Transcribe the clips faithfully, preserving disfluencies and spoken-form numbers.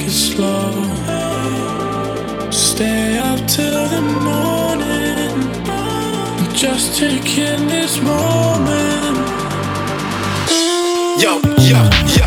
it slow. Stay up till the morning, just taking this moment. Yo, yo, yo.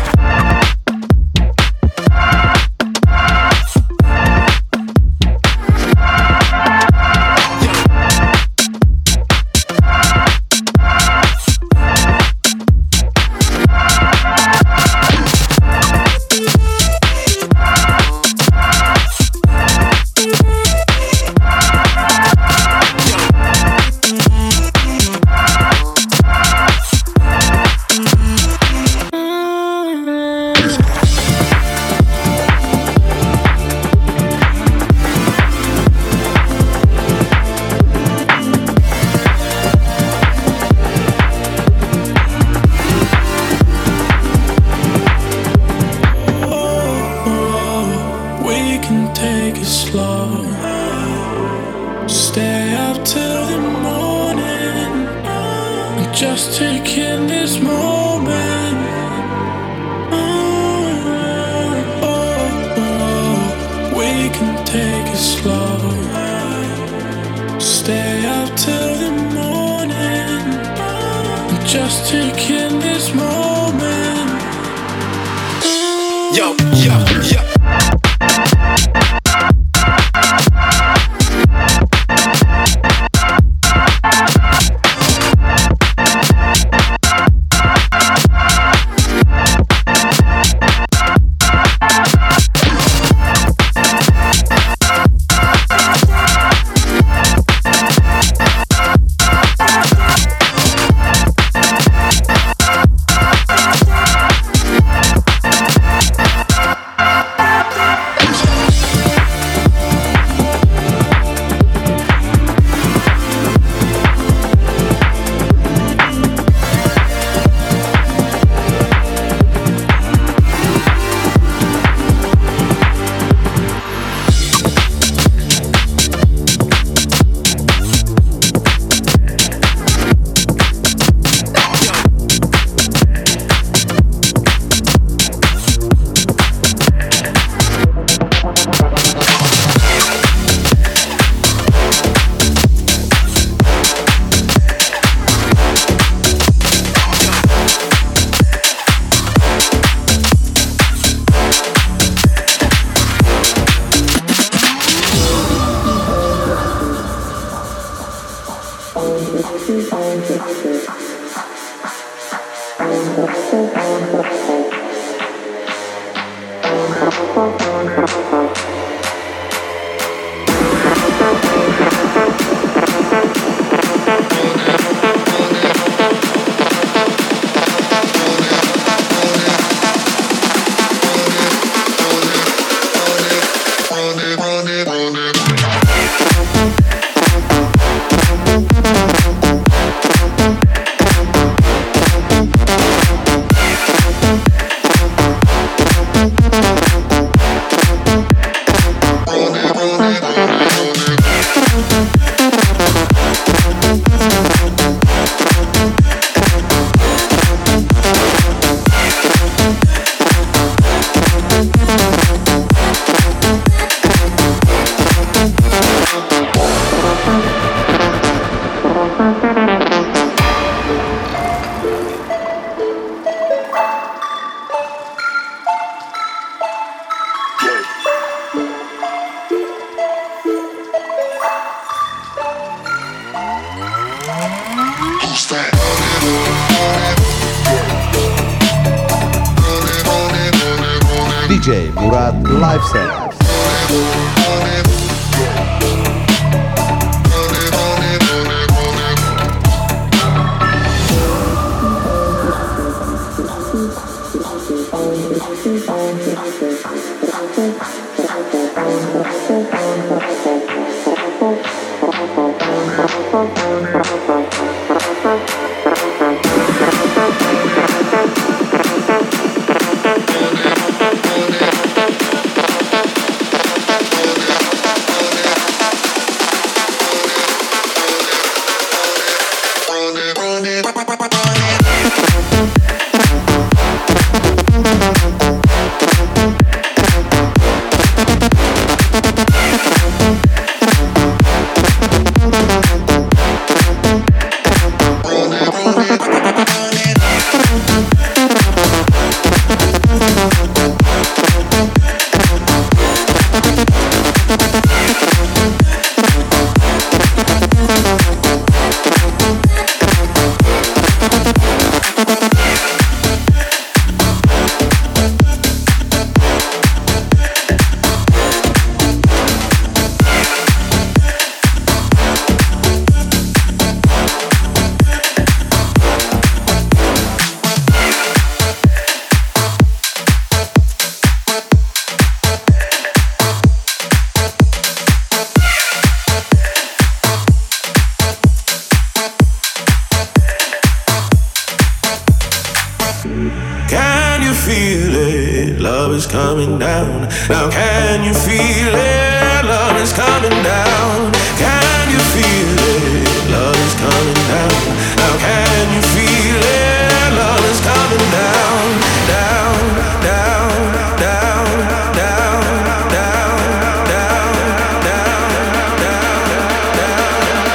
Just taking this moment. Oh, oh, oh. We can take it slow. Stay up till the morning. Just taking this moment. Yo, yo, yo. D J Murat Live Set. Can you feel it? Love is coming down. Now can you feel it? Love is coming down. Can you feel it? Love is coming down. Now can you feel it? Love is coming down, down, down, down, down, down, down, down, down, down.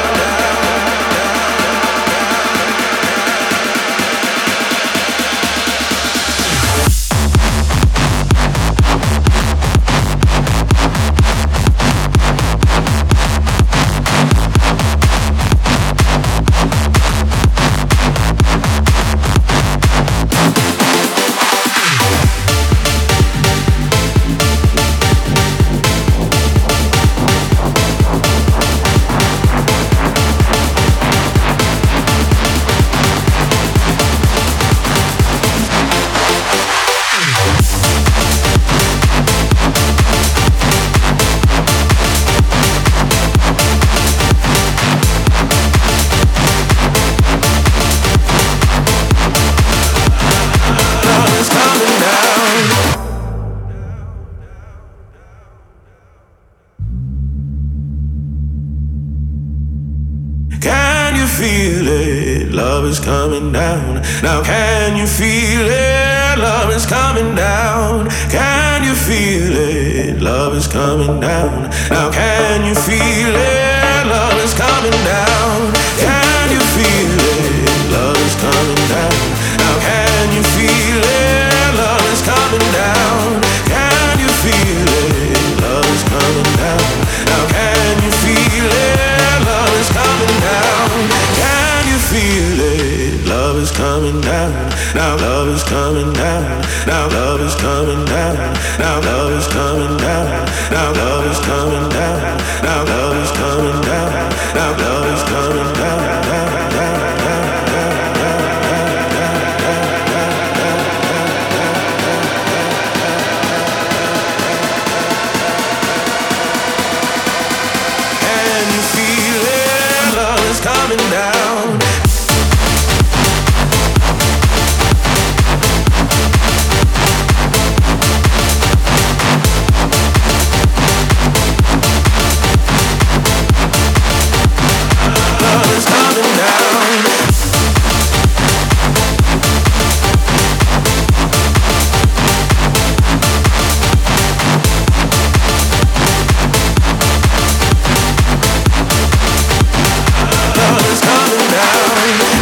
Feel it, love is coming down. Now can you feel it? Love is coming down. Can you feel it? Love is coming down. Now can you feel it? Love is coming down. Can you feel it? Love is coming down. Now can you feel it? Love is coming down. Can you feel it? Love is coming down. Now can you feel it? Love is coming down. Can you feel it? Love is coming down. Now love is coming down. Now love is coming down. Now love is coming down. Now love is coming down. Now love is coming down. Now love is coming down. Can you feel it? Love is coming down. Love is coming down. Love is coming down.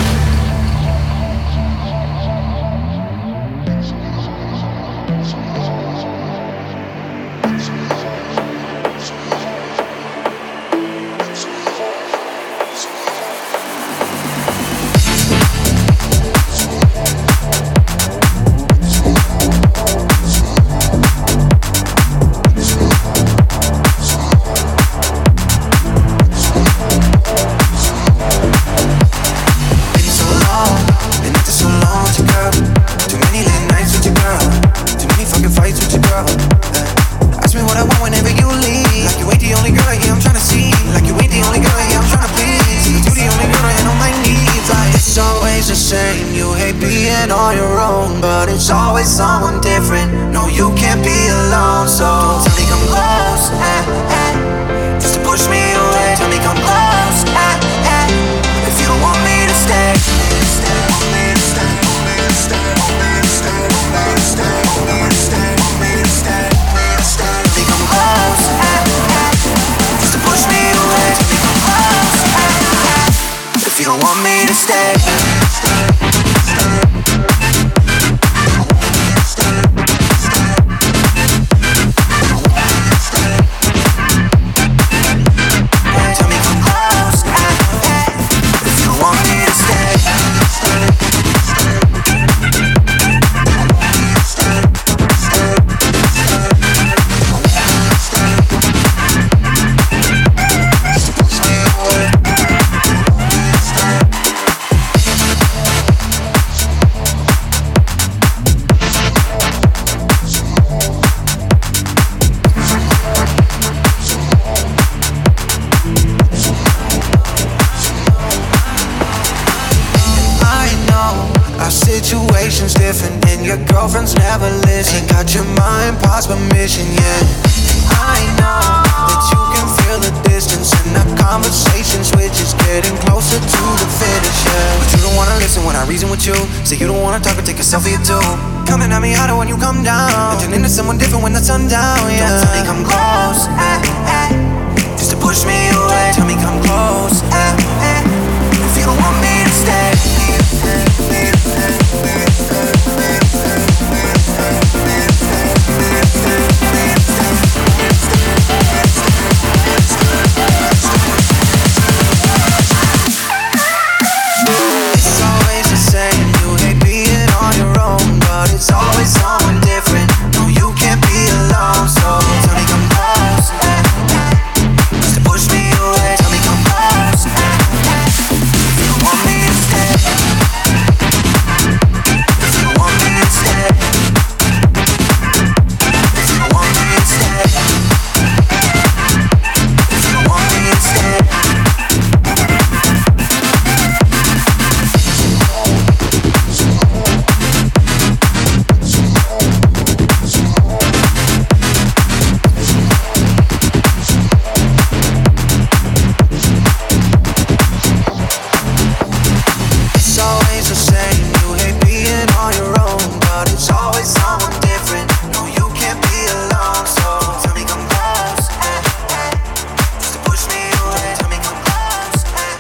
It's always someone different. No, you can't be alone. So don't tell me come close, eh, eh, just to push me away. Tell me come close, eh, eh, if you don't want me to stay. Want me to stay, want me to stay, want me to stay, want me to stay, want me to stay, want me to stay, want me to stay. Tell me come close, eh, eh, just to push me away. Tell me come close, eh, eh, if you don't want me to stay. situation's different and your girlfriend's never listen. Ain't got your mind past permission yet. I know that you can feel the distance and our conversation switches, getting closer to the finish, yeah. But you don't wanna listen when I reason with you. Say you don't wanna talk or take a selfie or two. Coming at me harder when you come down, and turn into someone different when the sun down, yeah. Don't tell me come close, eh, eh, just to push me away. Tell me come close, eh, eh, if you don't want me to stay. It's always the same, you hate being on your own, but it's always someone different. No, you can't be alone, so tell me come close, eh, eh, just to push me away. Tell me come close, eh, eh, if you want me to stay. If you want me to stay. If you want me to stay. If you want me to stay. It's always the same, you hate being on your own, but it's always someone different. No, you can't be alone, so tell me come close, eh, eh, just to push me away. Tell me come close, eh,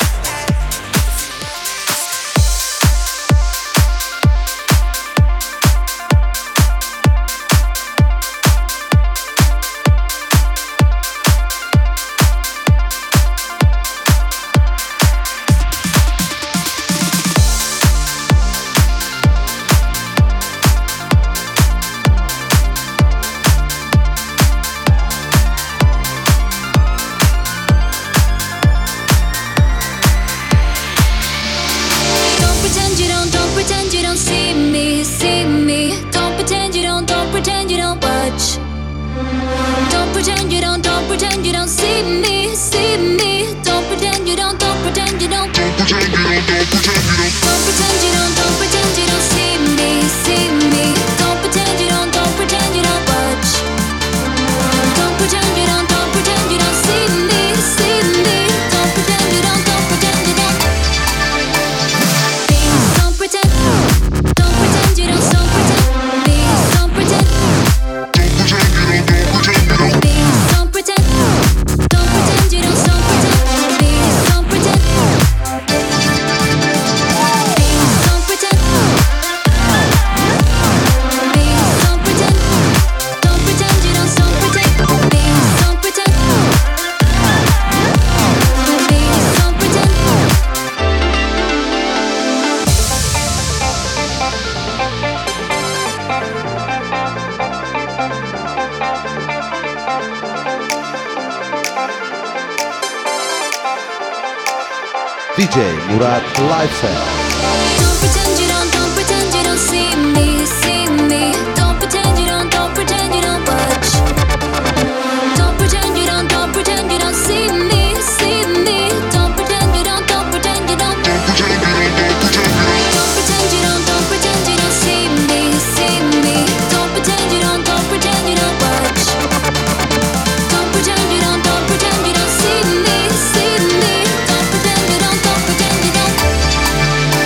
Don't pretend you don't, don't pretend you don't see me, see me. Don't pretend you don't, don't pretend you don't watch. Don't pretend you don't, don't pretend you don't see me, see me. Don't pretend you don't, don't pretend you don't. Don't pretend you don't, don't pretend you don't. Don't pretend you don't, don't pretend you don't see me, see me. Don't pretend you don't, don't pretend you don't watch. Don't pretend you don't, don't pretend you don't see me, see me. Don't pretend you don't, don't pretend you don't. Please don't pretend, don't pretend you don't, don't pretend. Please don't pretend, please don't pretend, don't pretend you don't, don't pretend. Please don't pretend, please don't pretend, please don't pretend, don't pretend you don't, don't pretend. Please don't pretend, please don't pretend. D J Murat Live Set. Don't pretend you don't, don't pretend you don't see me, see me. Don't pretend you don't, don't pretend you don't watch. Don't pretend you don't, don't pretend you don't see me, see me. Don't pretend you don't, don't pretend you don't. Don't pretend you don't, don't pretend you don't see me, see me. Don't pretend you don't, don't pretend you don't watch. Don't pretend you don't, don't pretend you don't see me, see me. Don't pretend you don't, don't pretend you don't.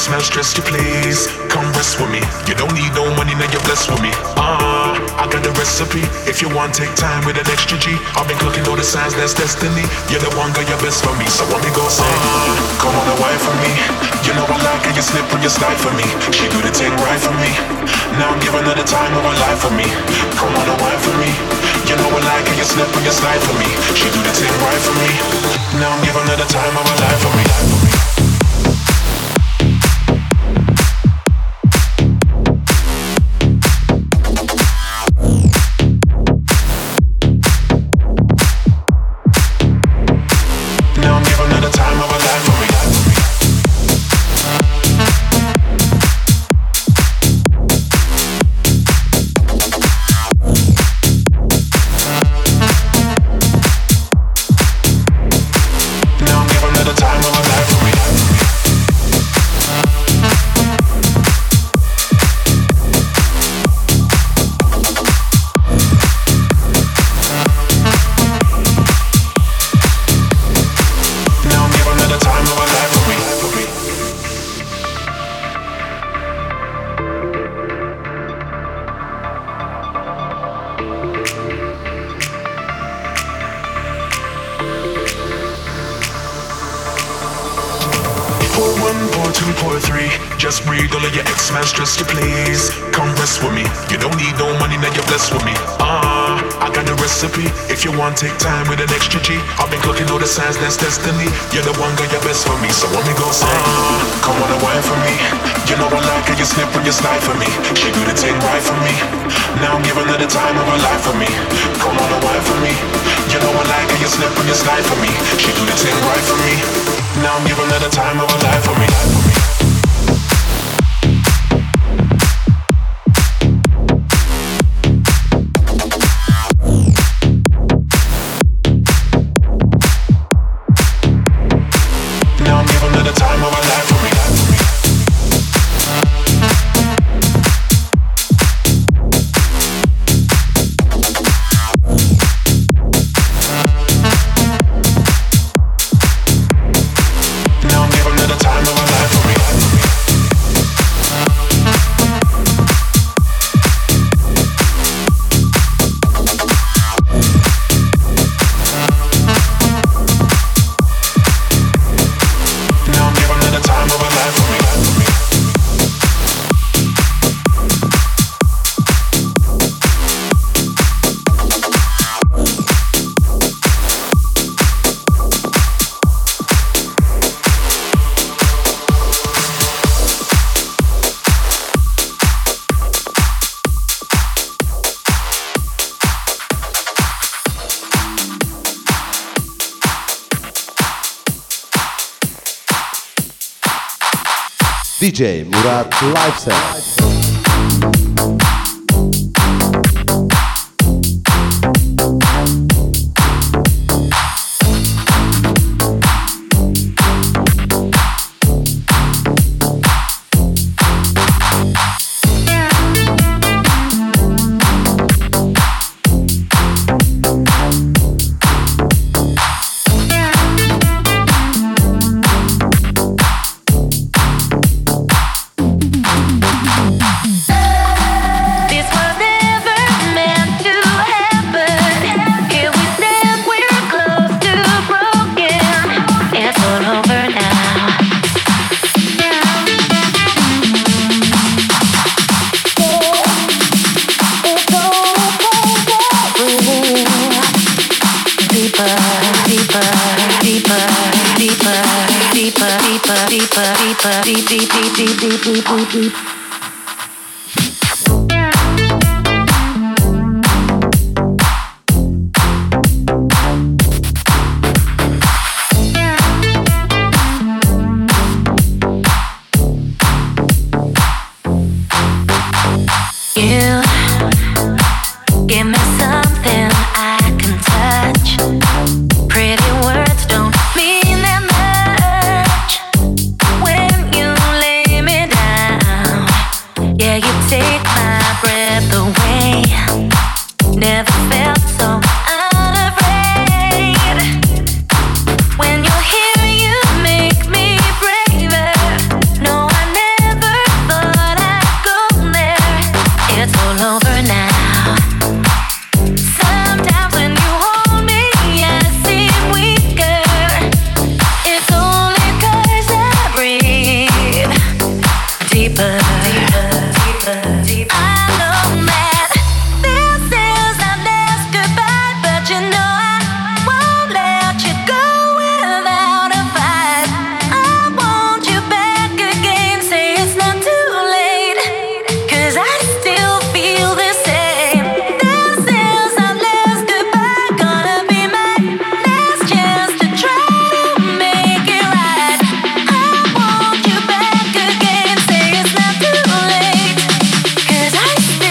man stressed you please. Come rest with me. You don't need no money, now you're blessed with me. Ah, uh, I got the recipe. If you want, take time with an extra G. I've been cooking all the signs, that's destiny. You're the one, girl, you're best for me. So what me go say? Uh, come on, a wife for me. You know I like how you slip when you slide for me. She do the thing right for me. Now give another time of her life for me. Come on, a wife for me. You know I like how you slip when you slide for me. She do the thing right for me. Now give another time of her life for me. Just breathe, all of your ex-man stress you please. Come rest with me. You don't need no money, now you're blessed with me. Ah, uh, I got the recipe. If you want, take time with an extra G. I've been cooking all the signs, that's destiny. You're the one, girl, you're best for me. So what me go say? Ah, uh, come on, a wine for me. You know I like how you slip when you slide for me. She do the thing right for me. Now give another time of her life for me. Come on, a wine for me. You know I like how you slip when you slide for me. She do the thing right for me. Now give another time of her life for me. D J Murat Lifestyle. When you're here, you make me braver. No, I never I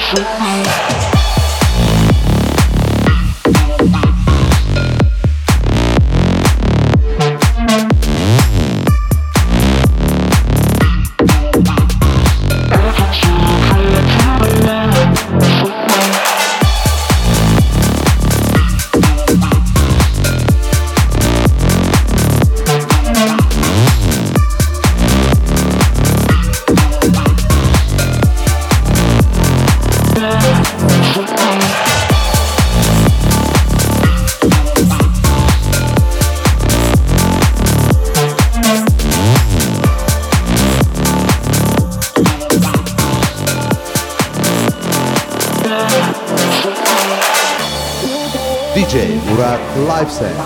D J Murat Live Set.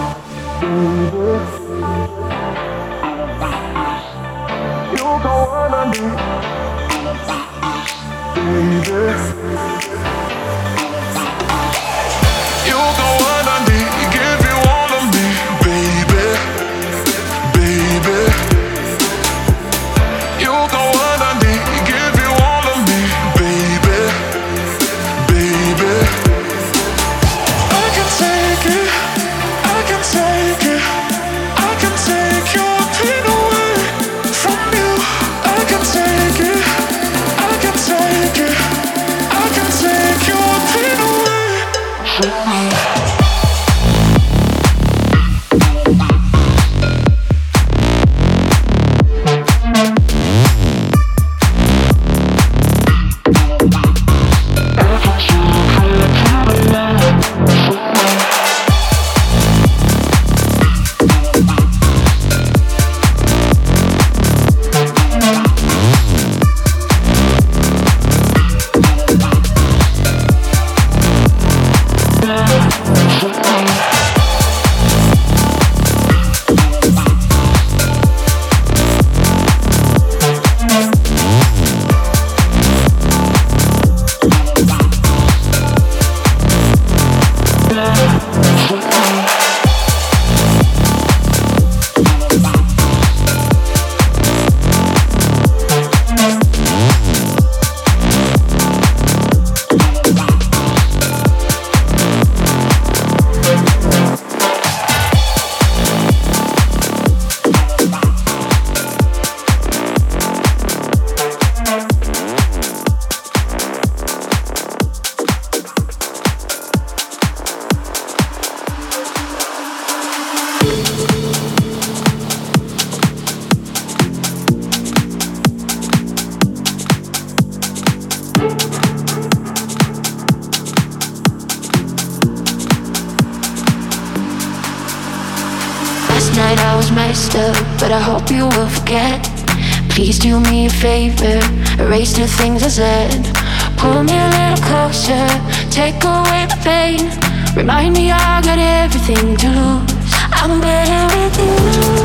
Night I was messed up, but I hope you will forget. Please do me a favor, erase the things I said. Pull me a little closer, take away the pain. Remind me I got everything to lose. I'm better with you.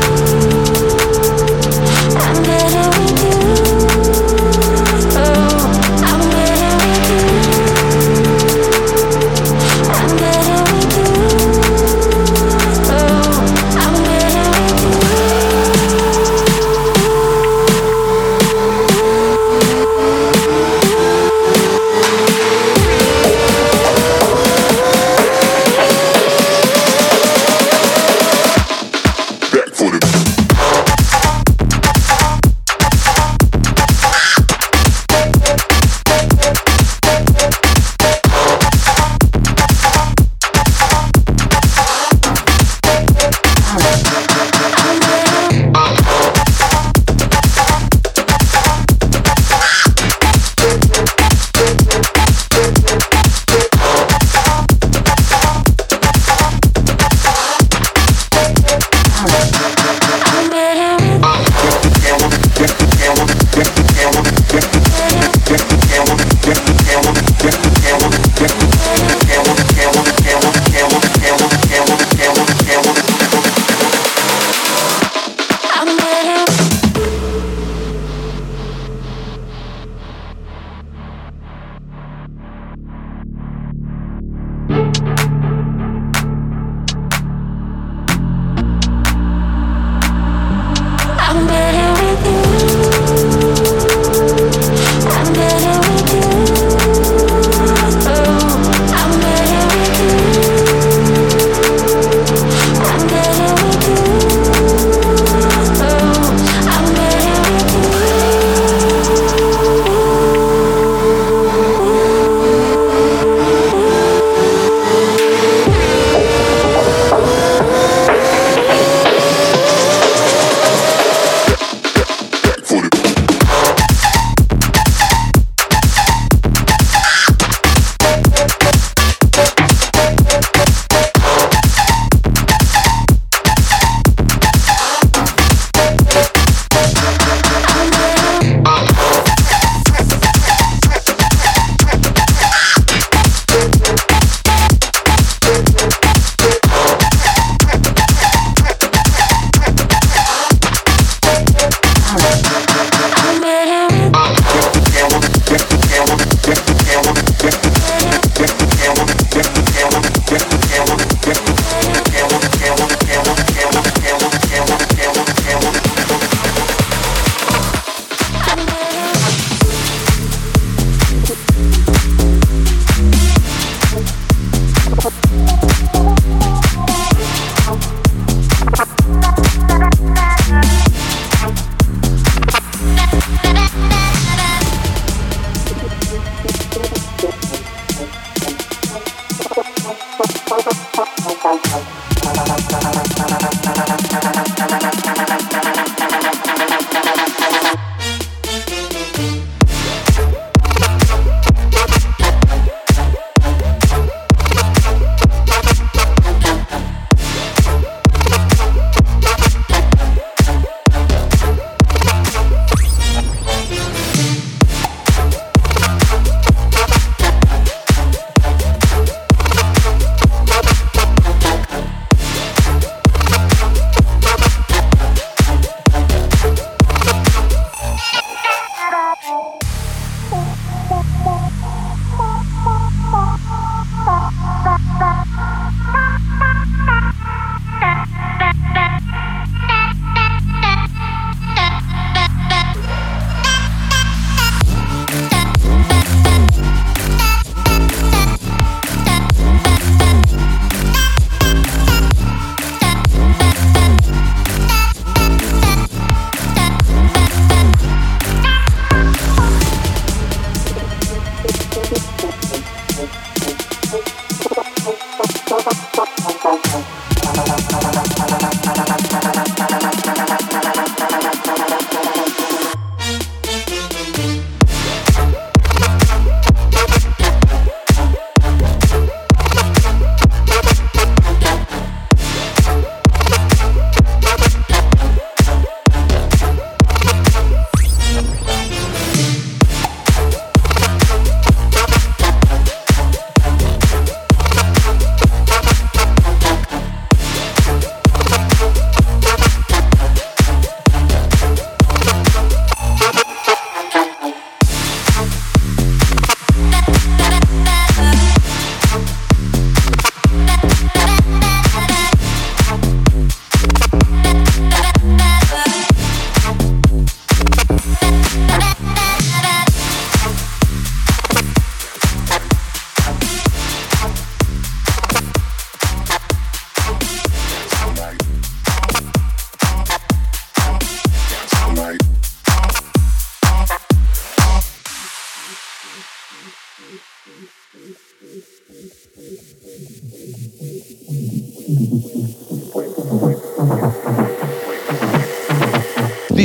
I'm better with you. Oh, I'm better with you. I'm better with you. Oh, I'm better with you. Back for the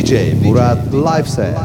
D J Murat Live Set.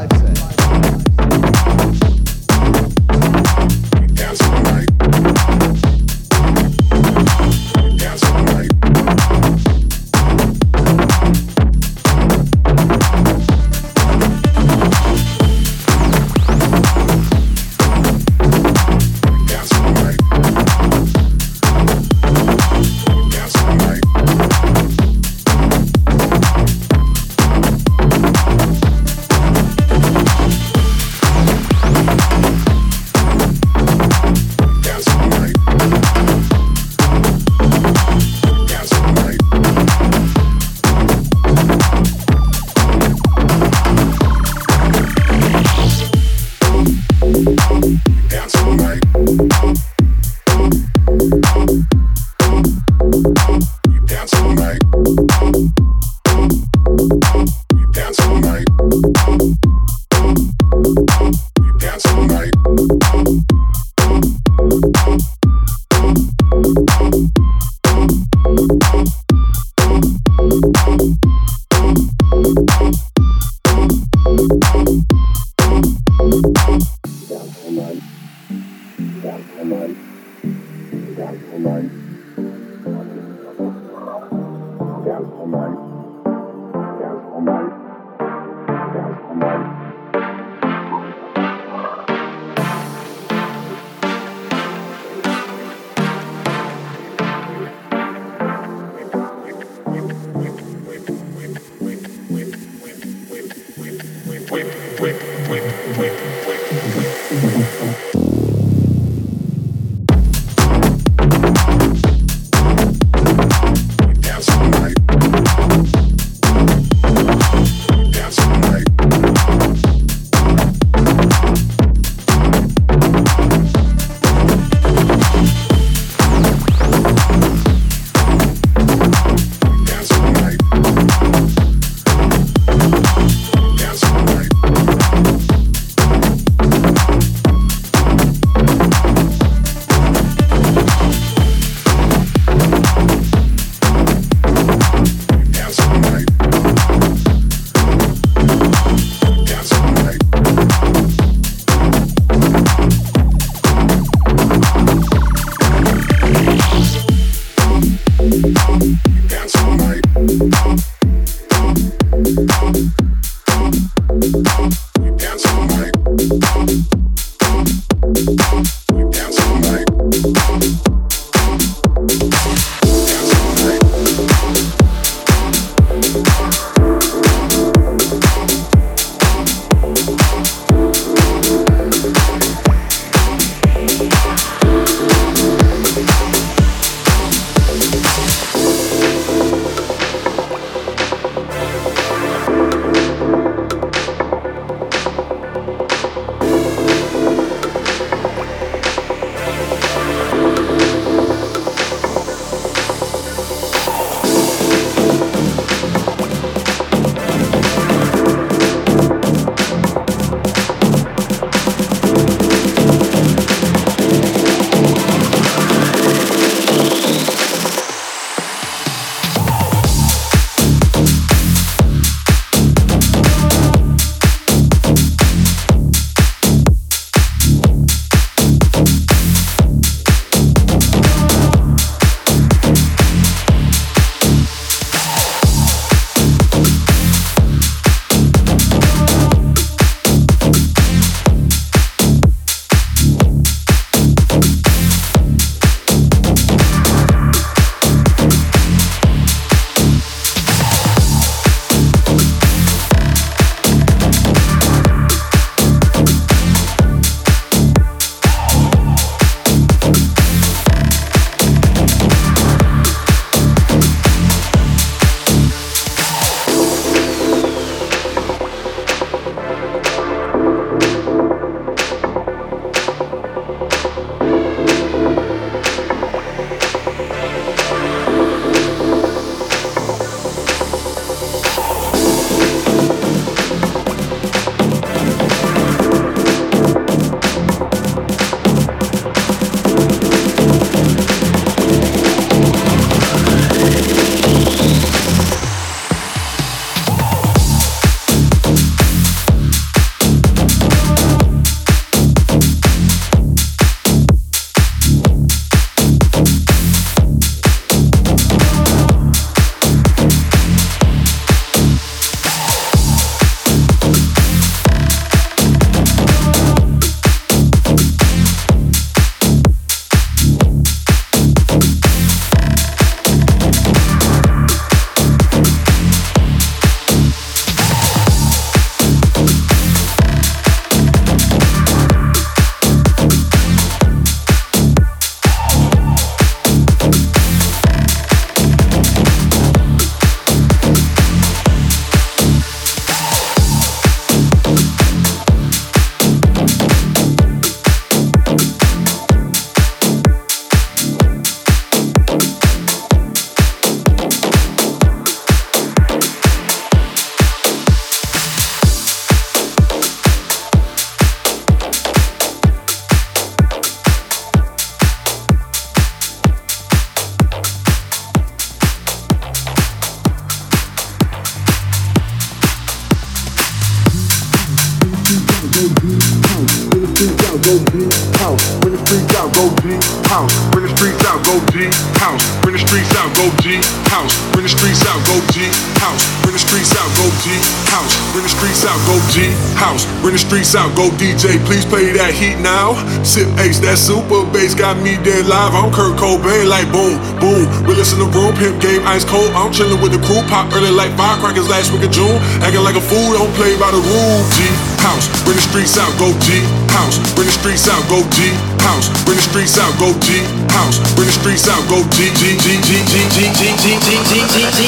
streets out, go G house. Bring the streets out, go G house. Bring the streets out, go G house. Bring the streets out, go G house. Bring the streets out, go G house. Bring the streets out, go G house. Bring the streets out, go G house. Bring the streets out, go D J. Please play that heat now. Sip Ace, that super bass got me dead live. I'm Kurt Cobain, like boom, boom. Realest in the room, pimp game ice cold. I'm chillin' with the crew, pop early like firecrackers last week of June. Acting like a fool, don't play by the rules. G house, bring the streets out, go G house. Bring the streets out, go G house. Bring the streets out, go G house. Bring the streets out, go G G G G G G G G G G G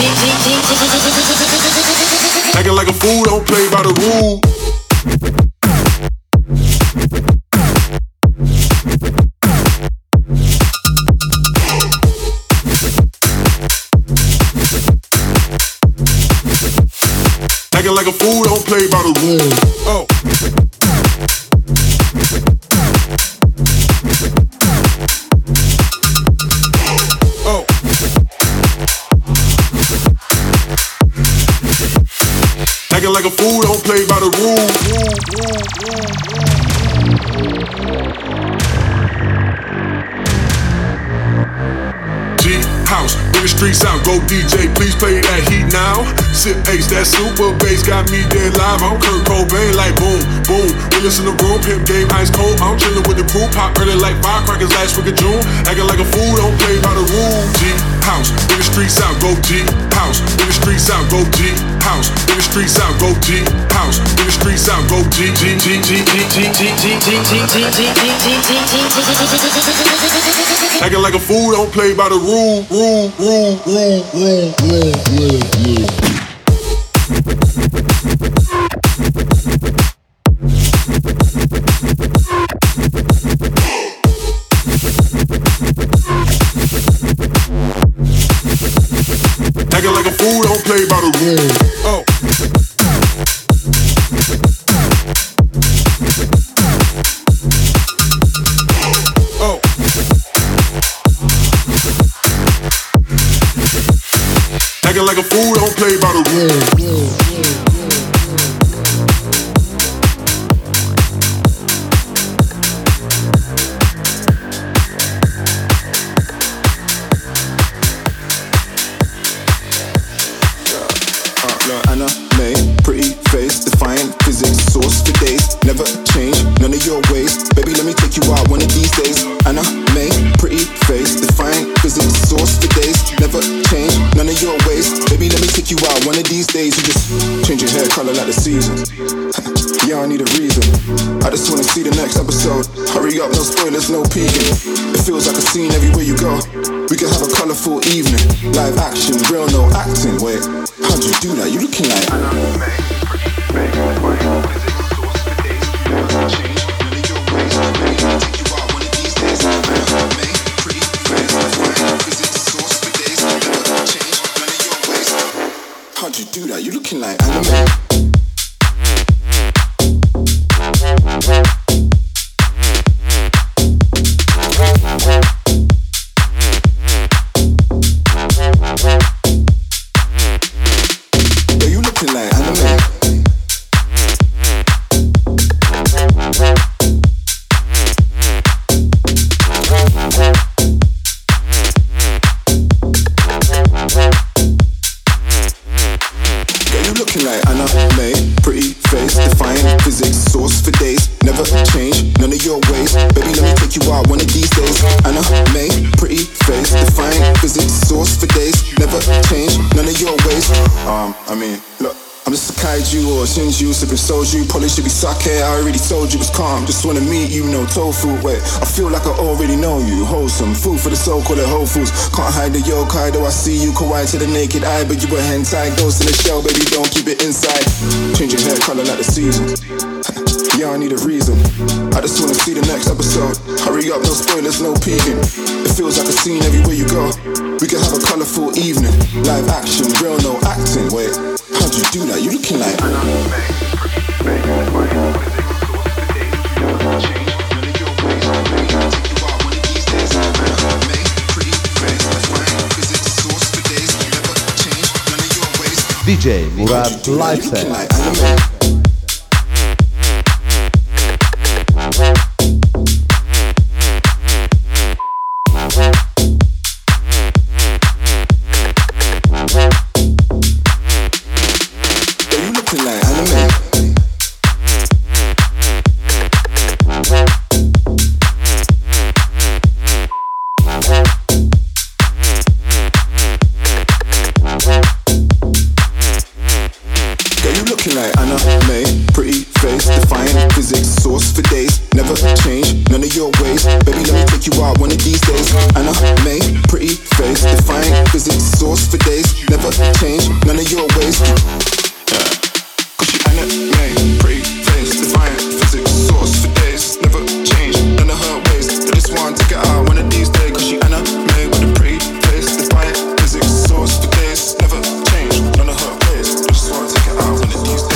G. Acting like a fool, don't play by the rules. Acting like a fool, don't play by the rules. Oh. Oh. Acting like a fool, don't play by the rules. House, bring the streets out, go D J, please play that heat now. Sip Ace, that super bass got me dead live. I'm Kurt Cobain, like boom, boom. Realest in the room, pimp game ice cold. I'm chillin' with the crew, pop early like firecrackers last week of June. Acting like a fool, don't play by the rules. G house, bring the streets out, go G house. Bring the streets out, go G house. Bring the streets out, go G house. Bring the streets out, go G G G G G G G G G G G. Acting like a fool, don't play by the rule, rule, rule, rule, rule, rule, rule, rule. Acting like a fool, don't play by the rules. Oh. Oh. Acting like a fool, don't play by the rules. No peeking. It feels like a scene everywhere you go. We can have a colourful evening. Live action, real no acting. Wait, how'd you do that? You looking like how'd you do that? You looking like anime. Soju, probably should be sake. I already told you it's calm. Just wanna meet you, no tofu. Wait, I feel like I already know you. Wholesome food for the soul, call it Whole Foods. Can't hide the yokai, though I see you kawaii to the naked eye, but you a hentai. Ghost in the shell, baby, don't keep it inside. Change your hair color like the seasons. Yeah, I need a reason. I just wanna see the next episode. Hurry up, no spoilers, no peeking. It feels like a scene everywhere you go. We can have a colourful evening. Live action, real no acting. Wait, how'd you do that? You looking like D J Murad Lifestyle. never change none of your ways. Baby, let me take you out one of these days. Anna May, pretty face, defying physics, source for days. Never change none of your ways. Yeah. Cause she Anna May, pretty face, defying physics, source for days. Never change none of her ways. I just want to take her out one of these days. Cause she Anna May with a pretty face, defying physics, source for days. Never change none of her ways. I just want to take her out one of these days.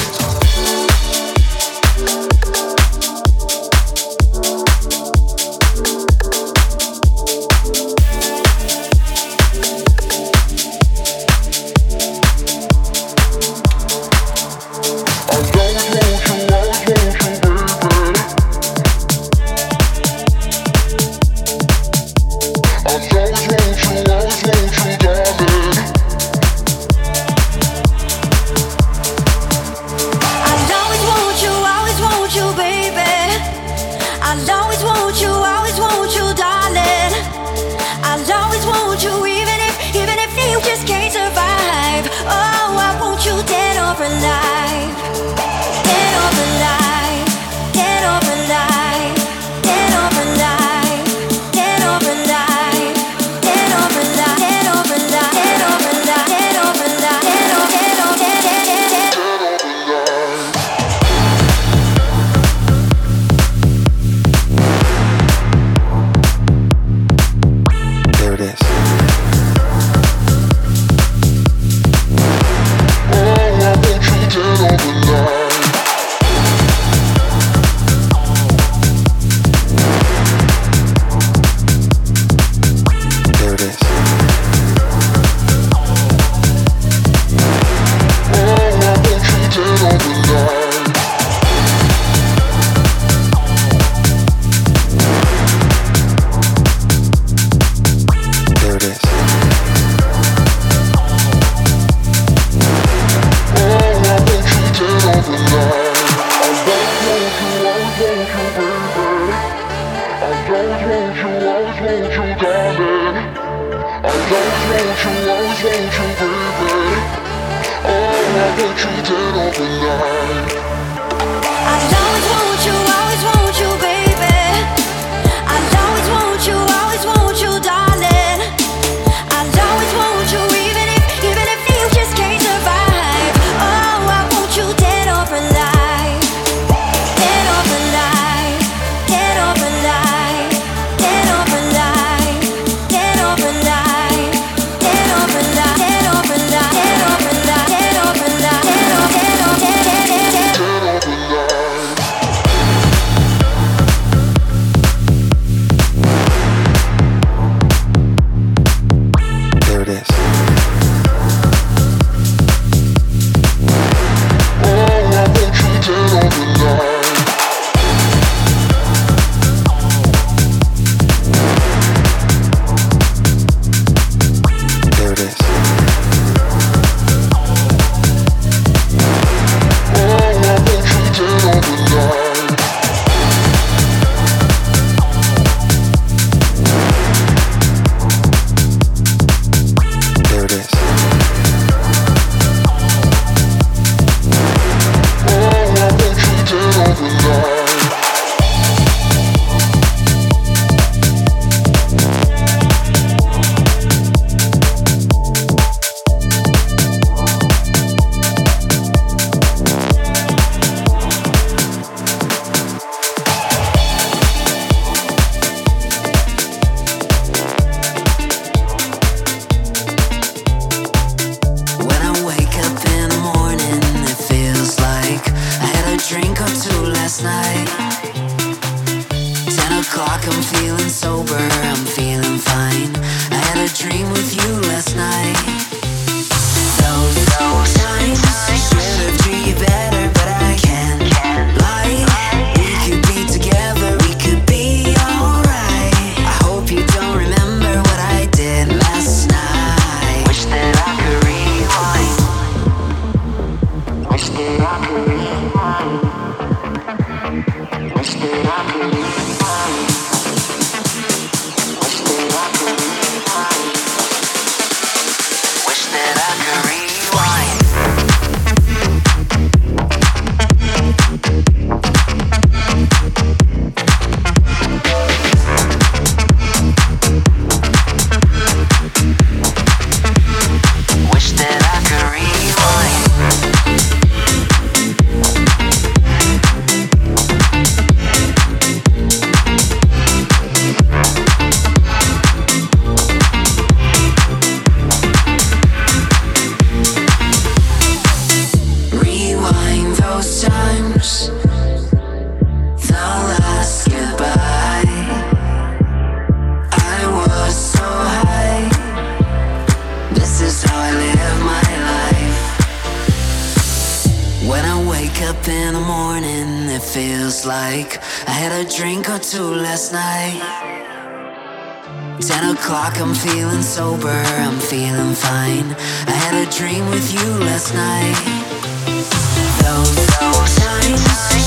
feels like. I had a drink or two last night. Ten o'clock, I'm feeling sober, I'm feeling fine. I had a dream with you last night. Those, those times